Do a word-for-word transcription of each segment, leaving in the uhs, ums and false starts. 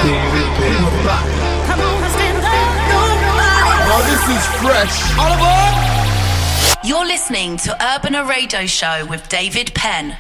David Penn. We're back. Come on, stand up, nobody. Now this is fresh. All aboard! You're listening to Urbana Radio Show with David Penn.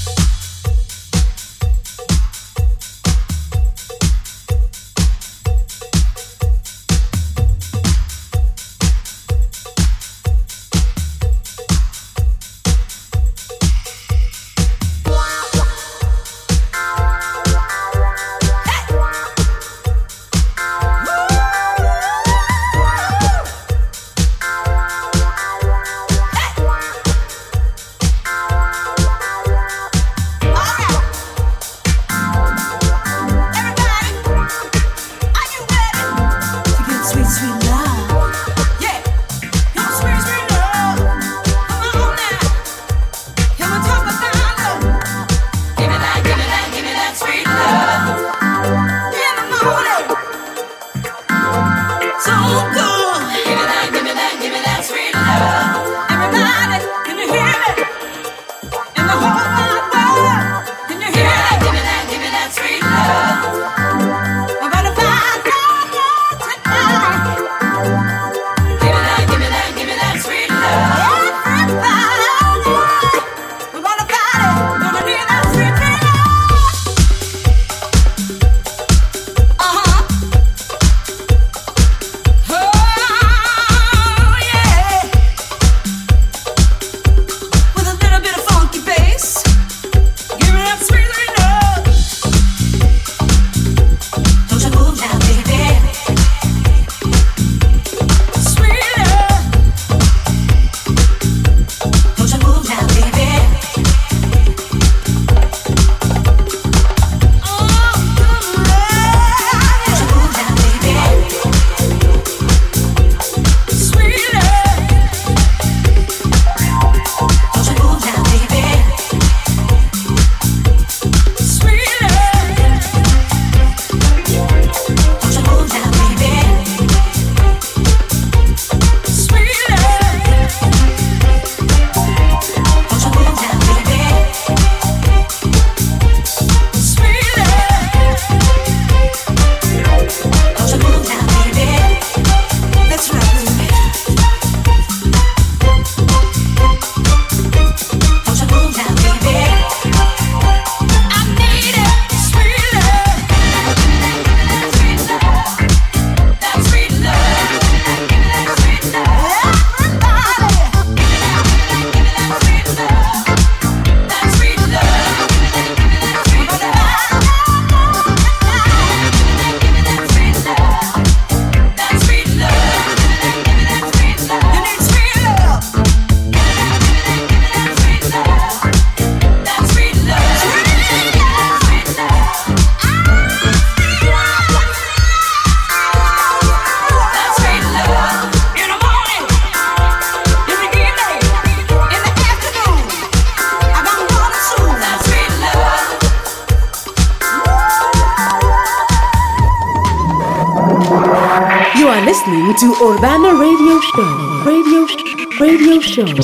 To Urbana Radio Show, Radio Sh- Radio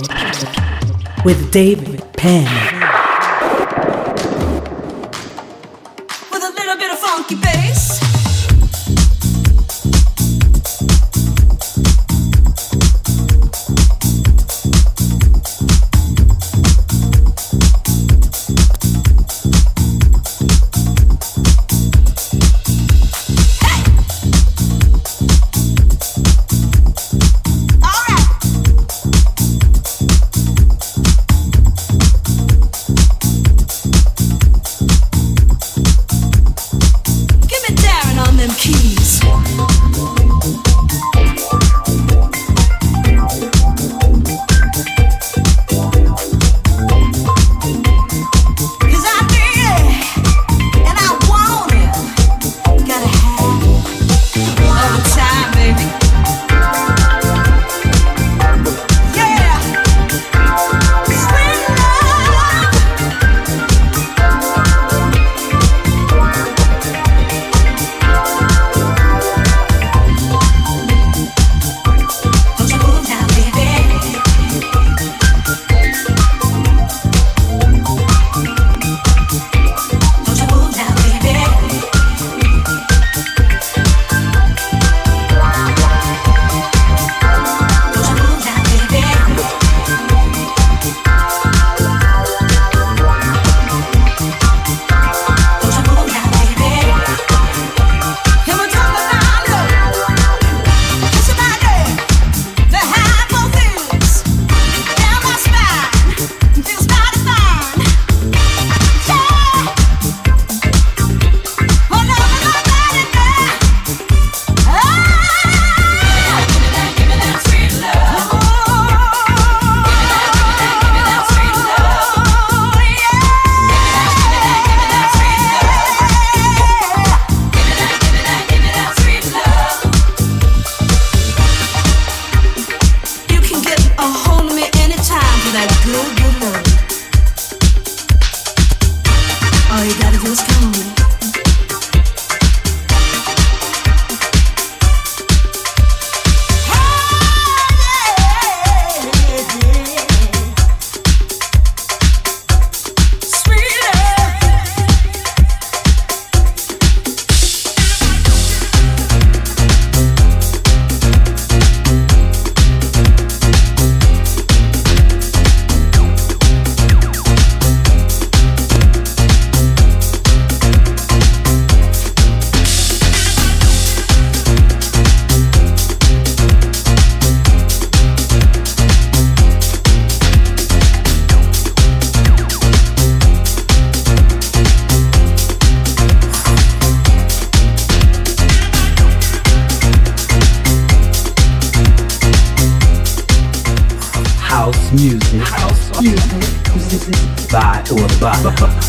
Show with David Penn. With a little bit of funky bass. Give me Darren. All you gotta do is come with it. Music, house music, by Urbana.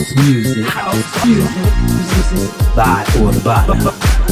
House music. House music. By Urbana.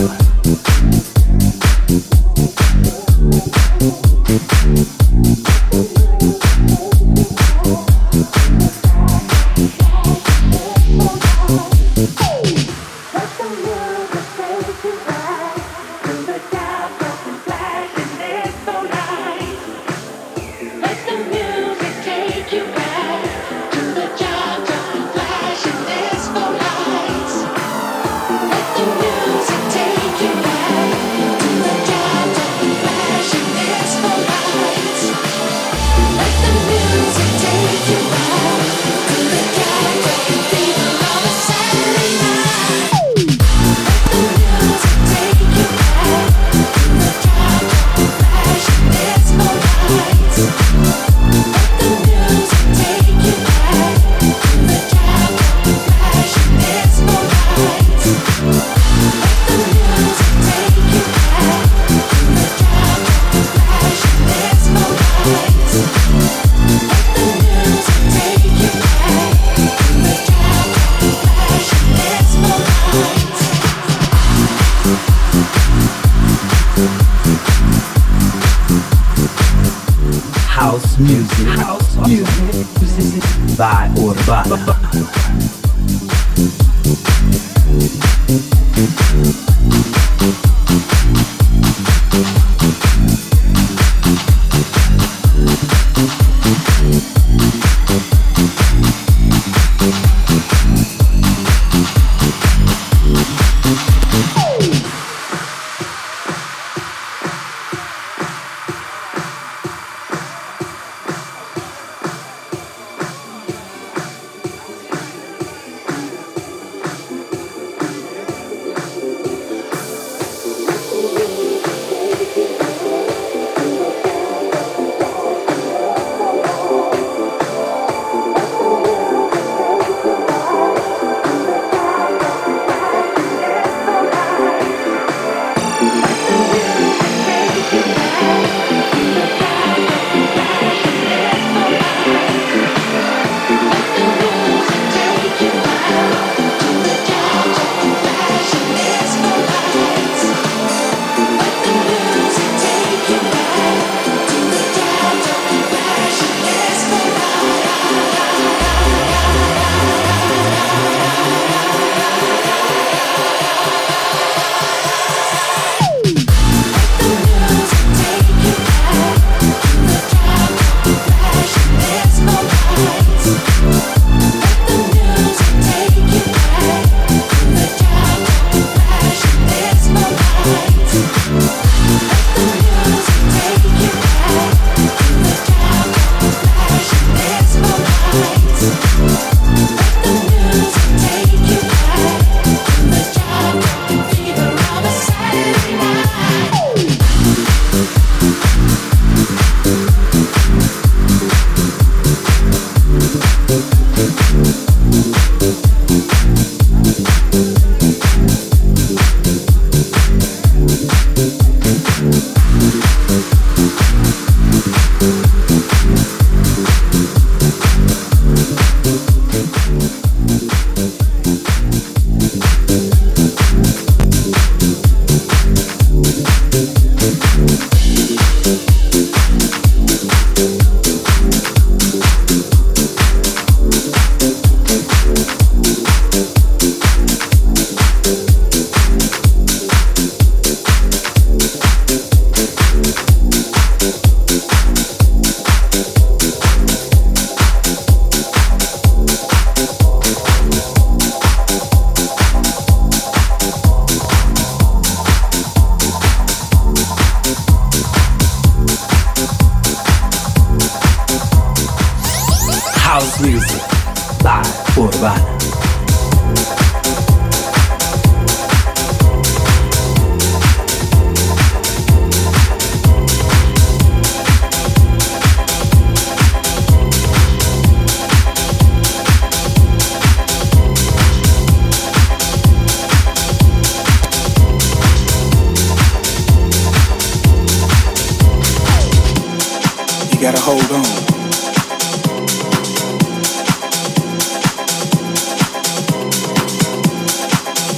House music. House music. By Urbana.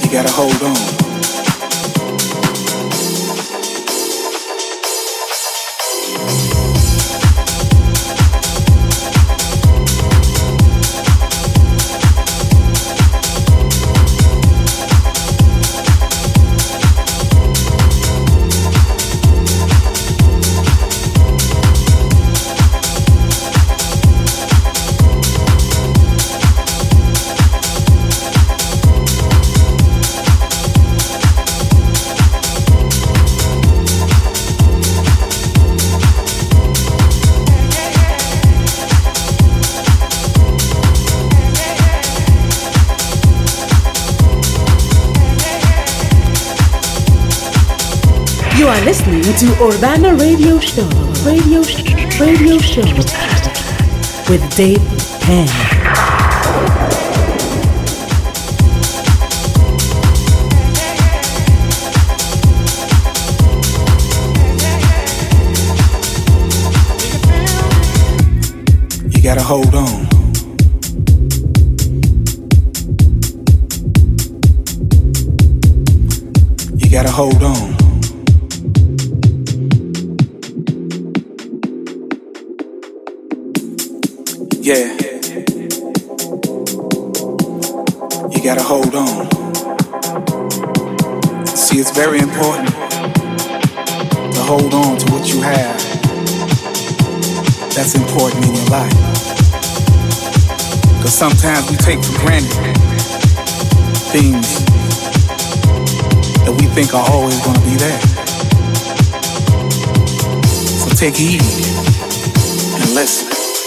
You gotta hold on. You are listening to Urbana Radio Show, Radio Sh- Radio Show with Dave Penn. You gotta hold on. You gotta hold on. Yeah. You gotta hold on. See, it's very important to hold on to what you have. That's important in your life. Because sometimes we take for granted things that we think are always gonna be there. So take heed and listen.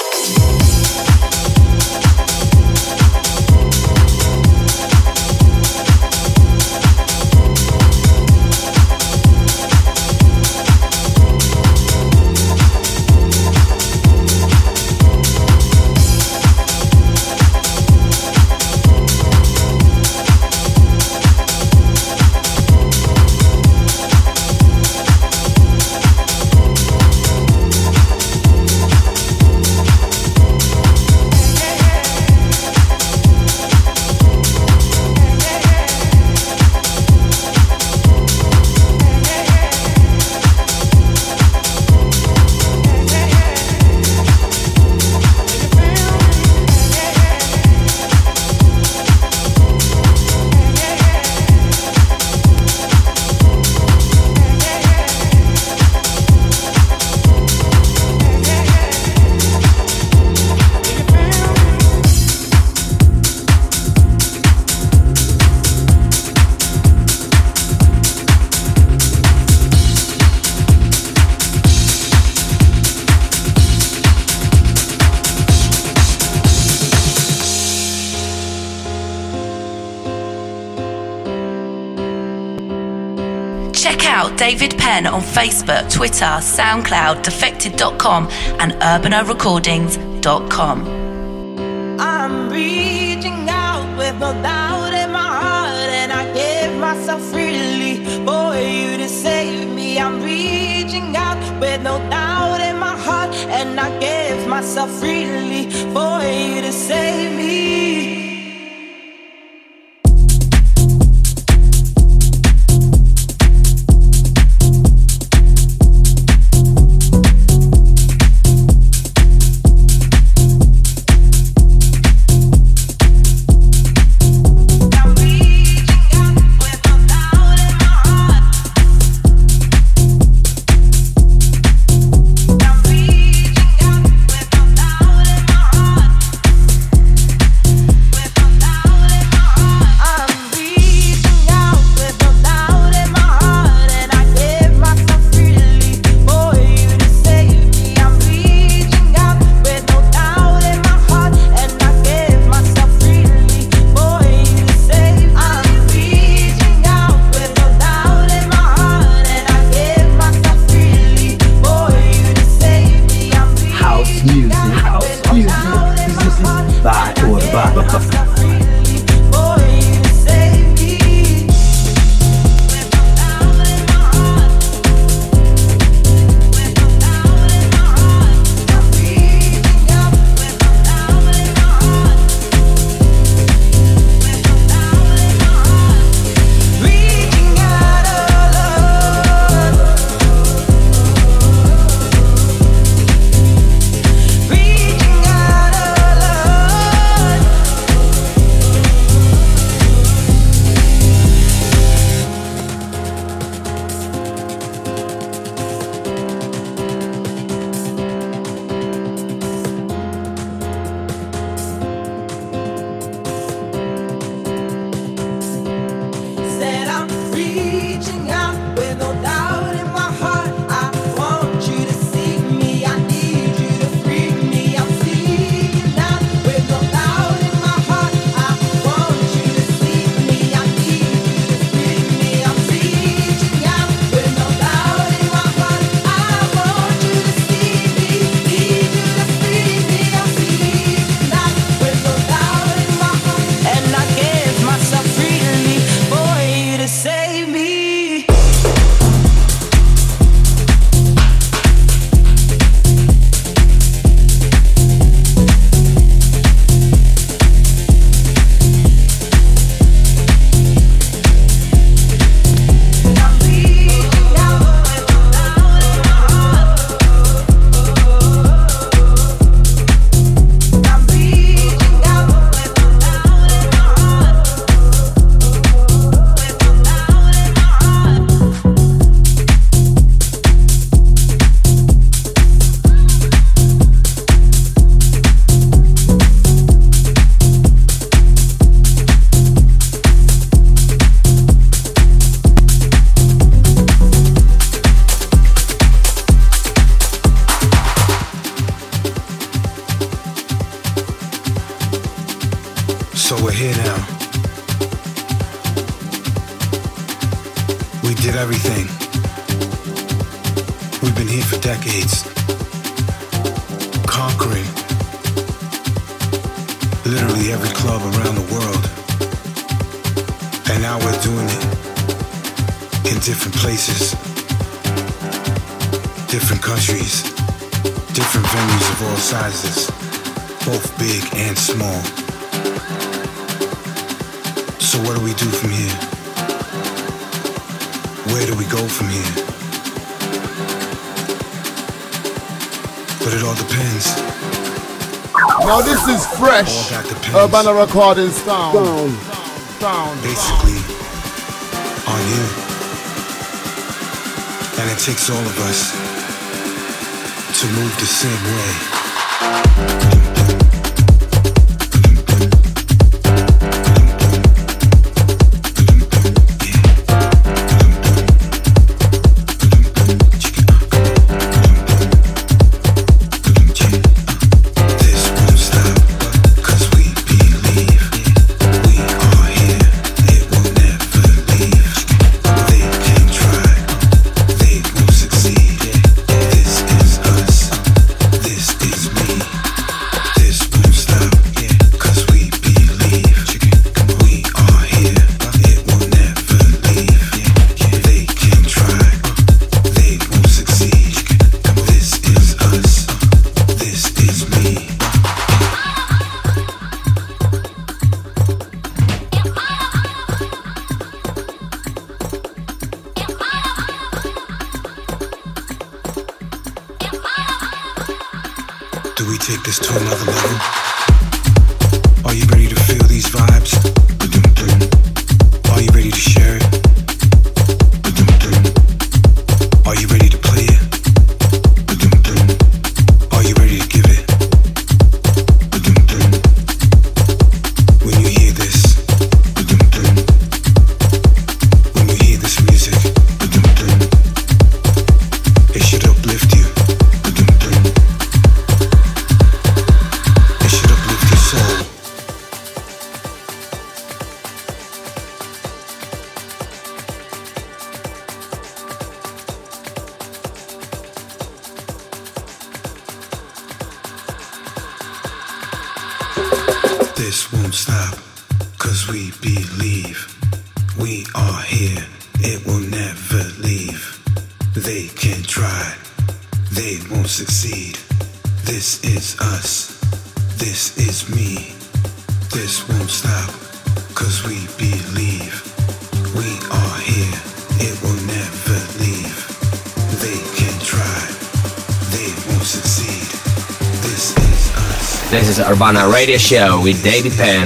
Check out David Penn on Facebook, Twitter, SoundCloud, defected dot com and urbana recordings dot com. I'm reaching out with no doubt in my heart, and I give myself freely for you to save me. I'm reaching out with no doubt in my heart, and I give myself freely for you to save me. We did everything. We've been here for decades, conquering literally every club around the world. And now we're doing it in different places, different countries, different venues of all sizes, both big and small. So what do we do from here? Where do we go from here? But it all depends. Now this is fresh. Urbana Recording sound. Sound. Sound. Basically, on you. And it takes all of us to move the same way. This is Urbana Radio Show with David Penn.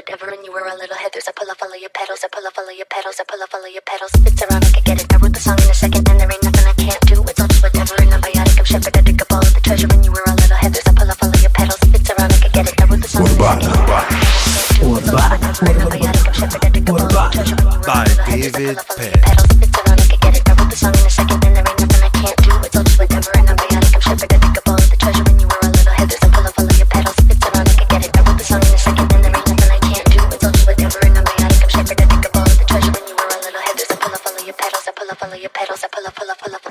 whatever. And you were a little heathers. I pull off all of your pedals. I pull off all of your pedals. I pull off all of your pedals. It's around, I can get it. I wrote the song in a second, and there ain't nothing I can't do. It's all just whatever. And I'm biotic. I'm shepherd. I dig up all of the treasure. And you were a little heathers. I pull off all of your pedals. It's around, I can get it. I wrote the song in a second. By David Penn. It's around, I can get it. I wrote the song in a second, and there ain't nothing I can't do. It's all just whatever. And I'm biotic. I'm shepherd. I dig up all of the treasure. And you were a little heathers. I pull off all of your pedals. It's around, I can get it. I wrote the song in a second, and there ain't nothing I can't do. It's all just whatever. And I'm biotic. I'm shepherd. I dig up all of the treasure. And you were a little heathers. I pull off all of your pedals. I pull off all of your pedals. I pull off, pull off, pull off.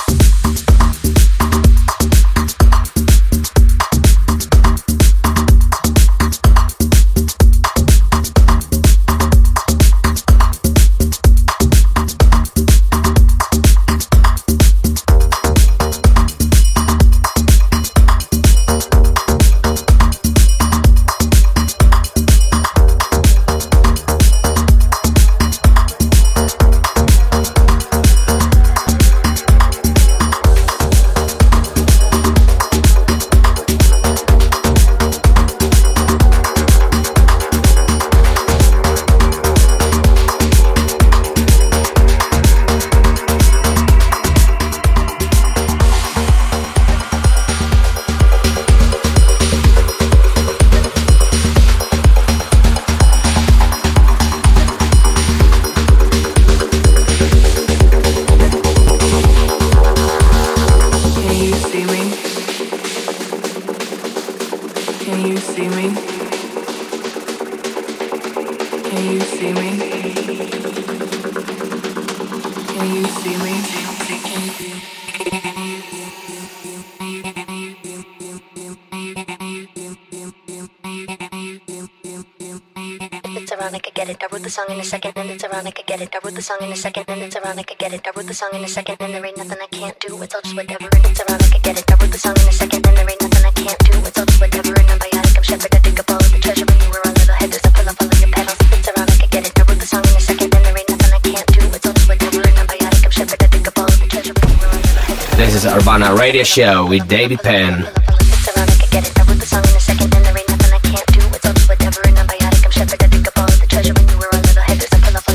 Song in a second, and it's around, I could get it. I wrote the song in a second, and it's around, I could get it. I wrote the song in a second, and there ain't nothing I can't do. It's all just whatever, and it's around, I could get it. I wrote the song in a second, and there ain't nothing I can't do. It's all just whatever, and I'm biotic. I'm shepherd. I dig up all of the treasure. When you were a little heathers, I pull off all of your pedals. It's around, I could get it. I wrote the song in a second, and there ain't nothing I can't do. It's all just whatever, and I'm biotic. I'm shepherd. I dig up all of the treasure. When you were a little heathers. This is Urbana Radio Show with David Penn. It's around, I could get it. I wrote the song in a second, and there ain't nothing I can't do. It's all just whatever, and I'm biotic. I'm shepherd. I dig up all of the treasure. When you were a little heathers.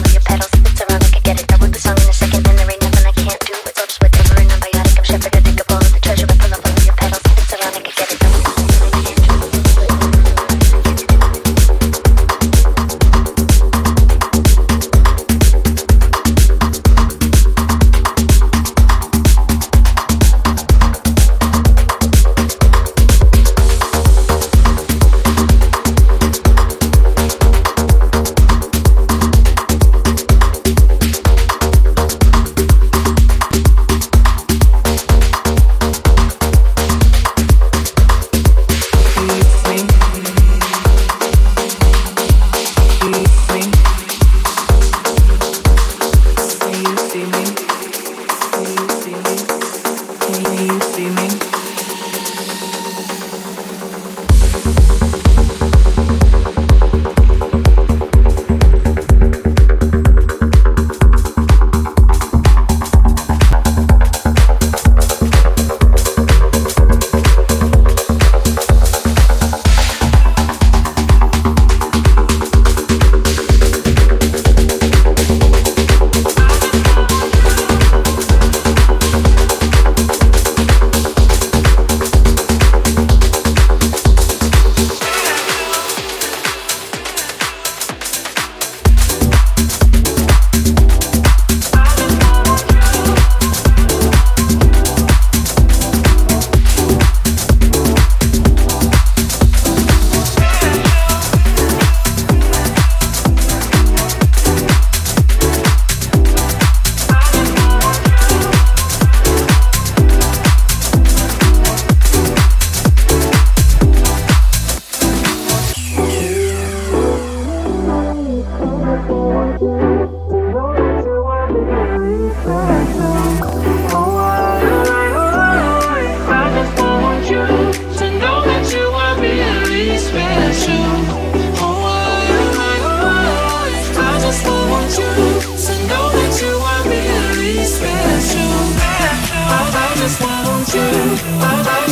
It's around, I could get it. I wrote the song in a second, and there ain't nothing I can't do. It's all just whatever, and I'm biotic. I'm shepherd. I dig up all of the treasure. I pull off all of your pedals. It's around, I could get it. I wrote the song in a second.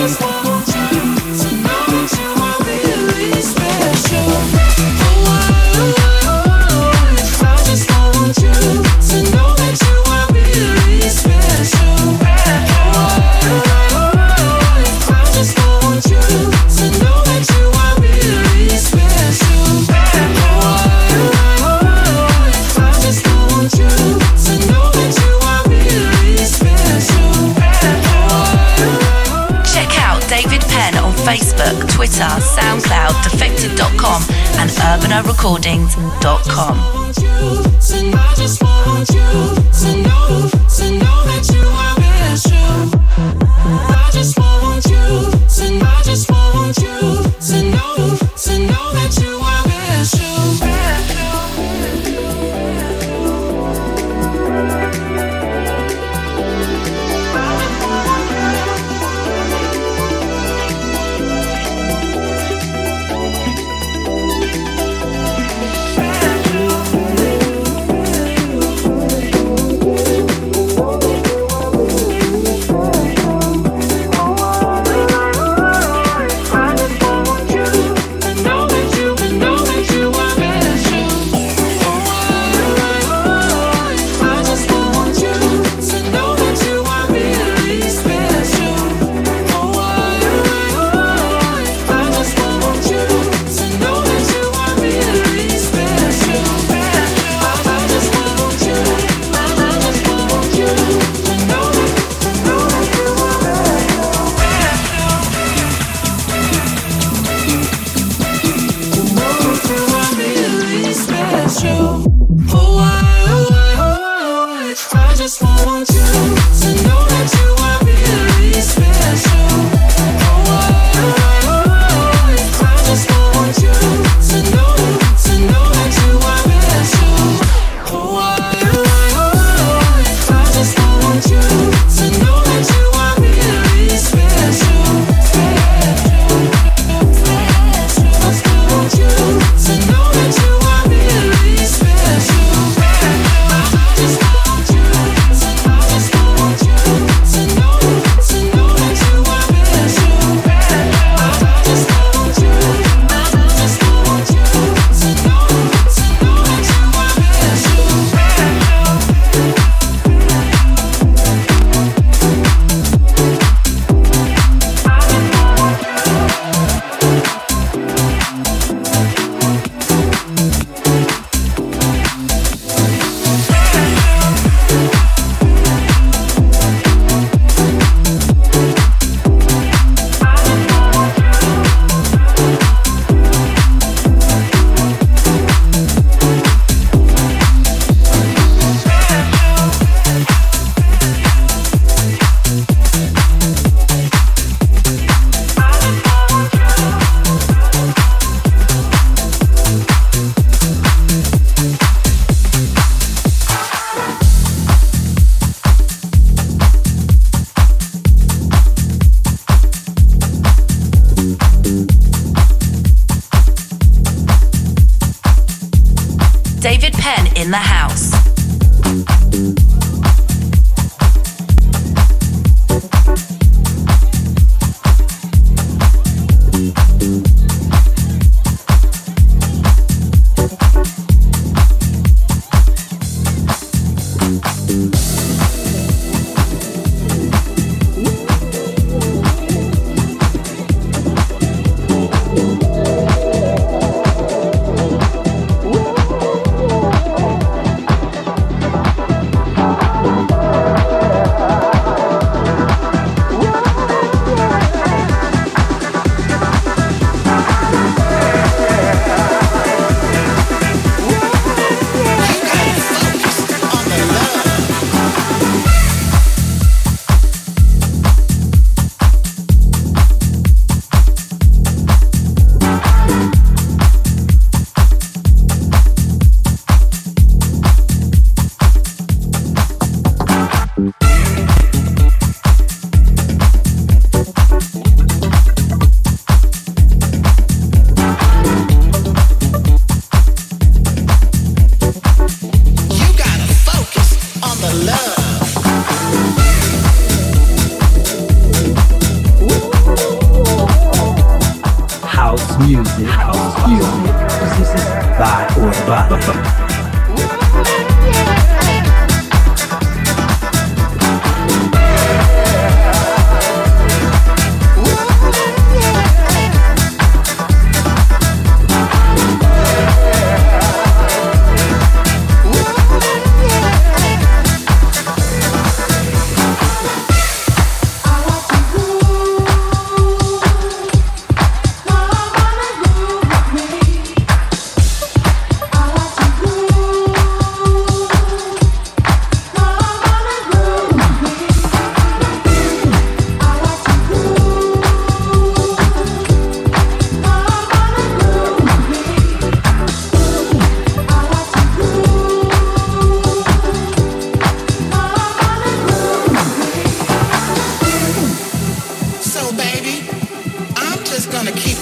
just want you to know that you are really special. Oh, I Twitter, SoundCloud, defected dot com and urbana recordings dot com. I just want you to know, to know that you are special. I just want you to, I just want you to know, to know that you are special. David Penn in the house. Music, house music, by Urbana. I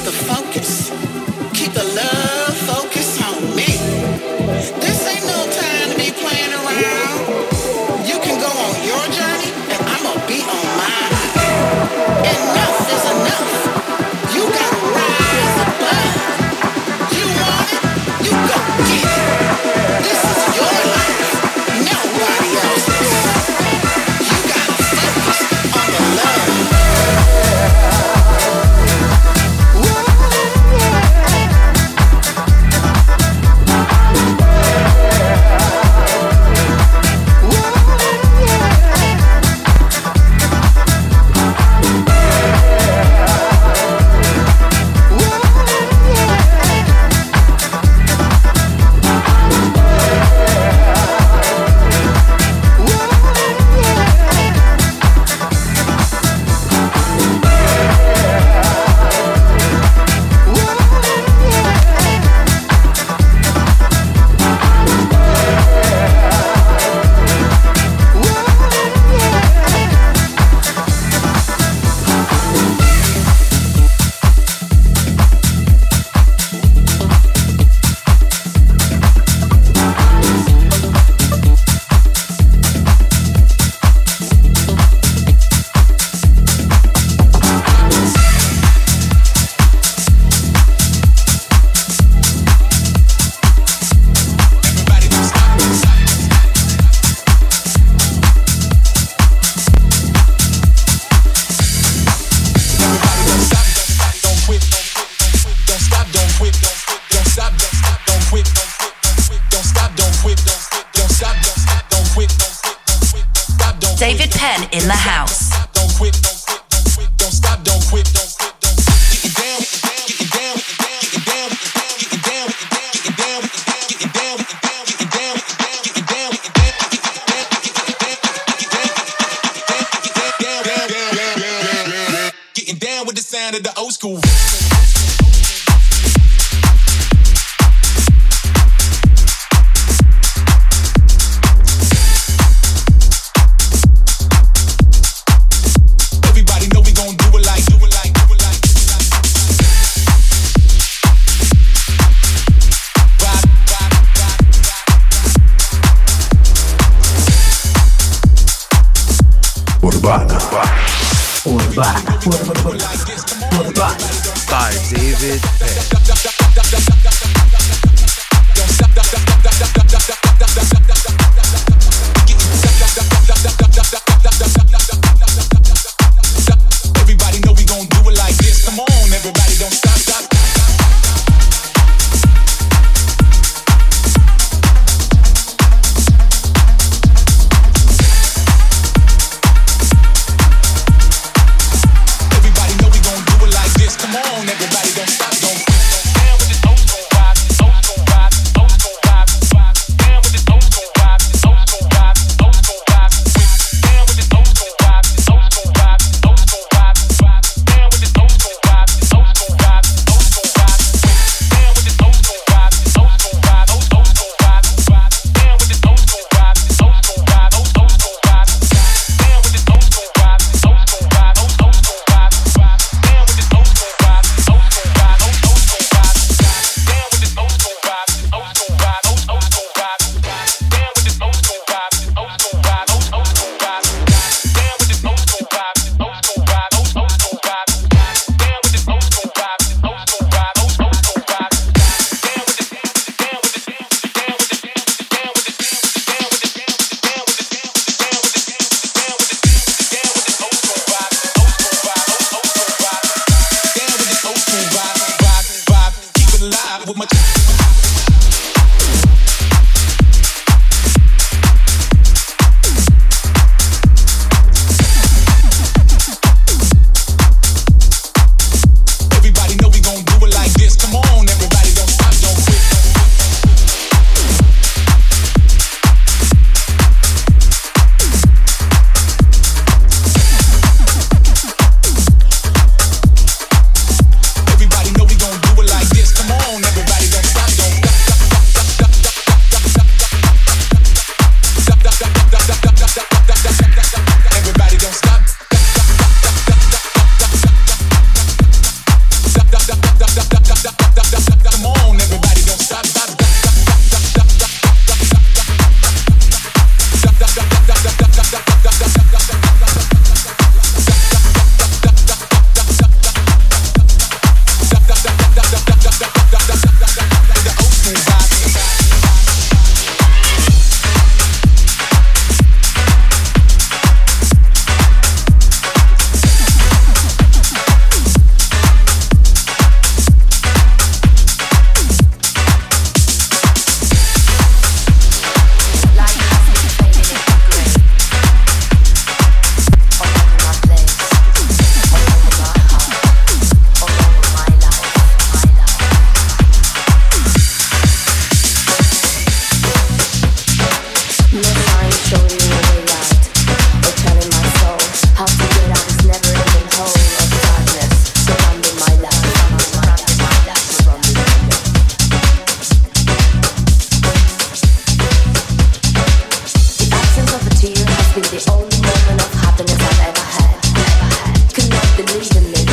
David Penn in the house. Don't quit, don't quit, don't quit, don't stop, don't quit, don't quit, don't stop. Getting down, getting down, getting down, getting down, getting down, getting down, getting down, getting down, getting down with the sound of the old school. Urbana. Urbana. Urbana. By David Penn. Everybody know we gon' do it like this. Come on, everybody, don't stop, stop. moment of happiness I've ever had. Could not believe in me,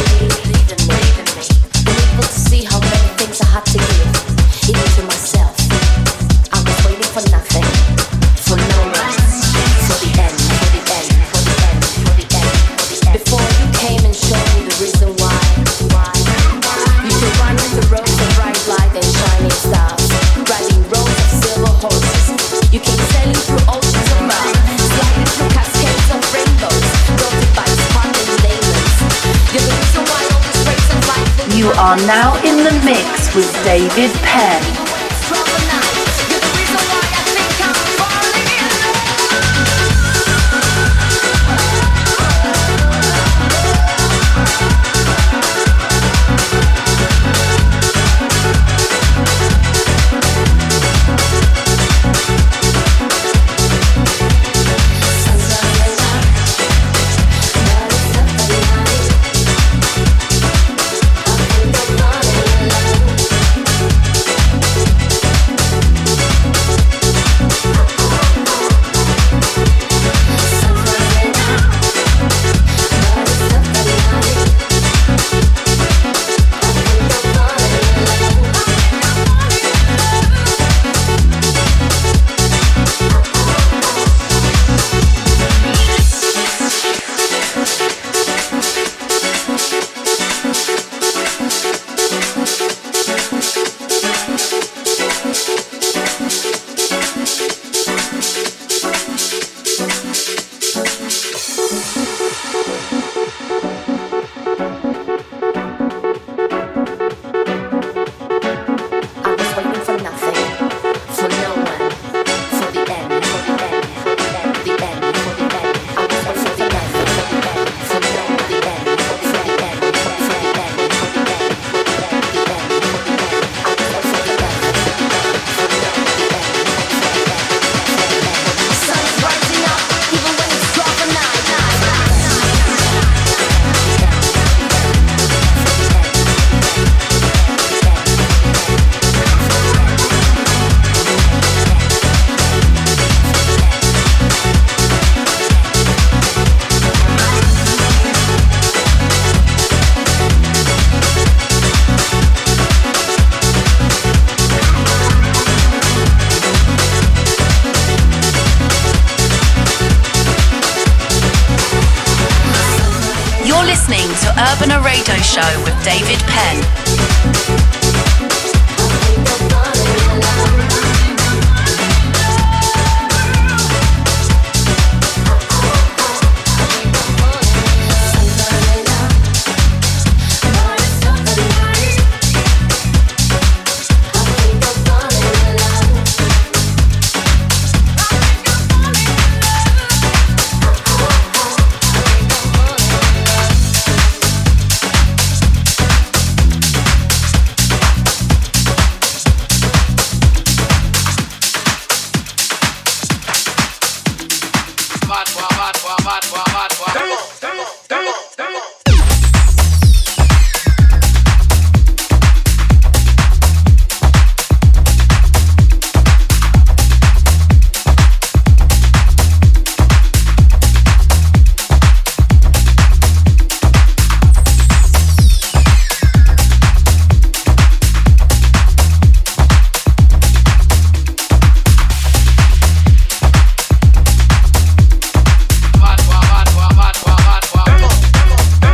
unable to see how many things I had to give, even to myself. I was waiting for nothing, for no one, for the end, for the end, for the end, for the end, for the end. Before you came and showed me the reason why. You could run with the roads of bright light and shining stars, riding roads of silver horses. You came sailing through oceans of love, sliding through cascades of rainbows, dotted by sparkling diamonds. You're the reason why all this race of life. You are now in the mix with David Penn. Urbana Radio Show with David Penn. Bad, bad, bad, bad, bad, bad, bad.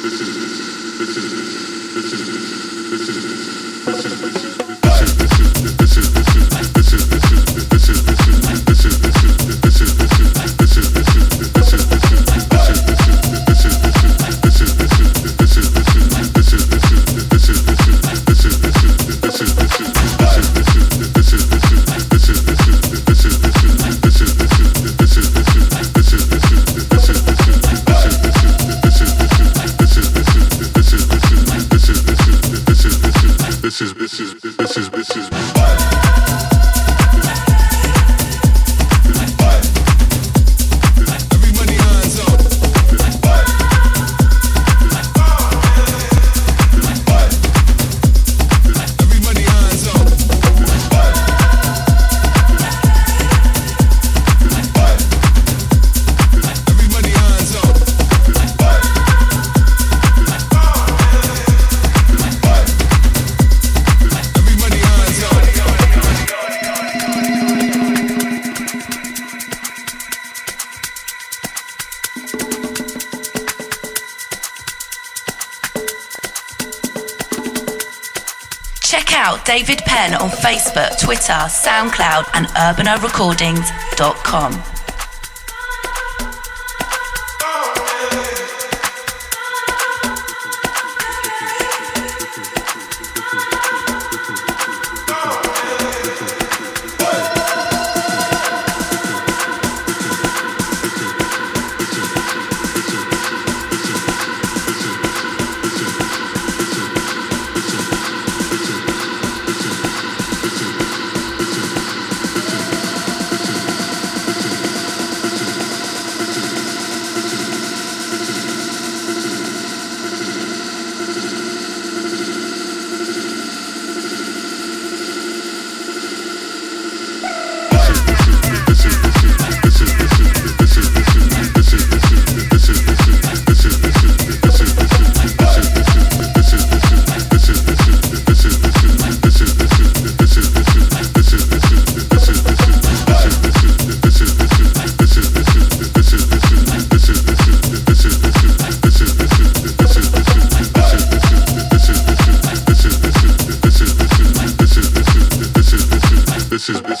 Check out David Penn on Facebook, Twitter, SoundCloud, and urbana recordings dot com. This is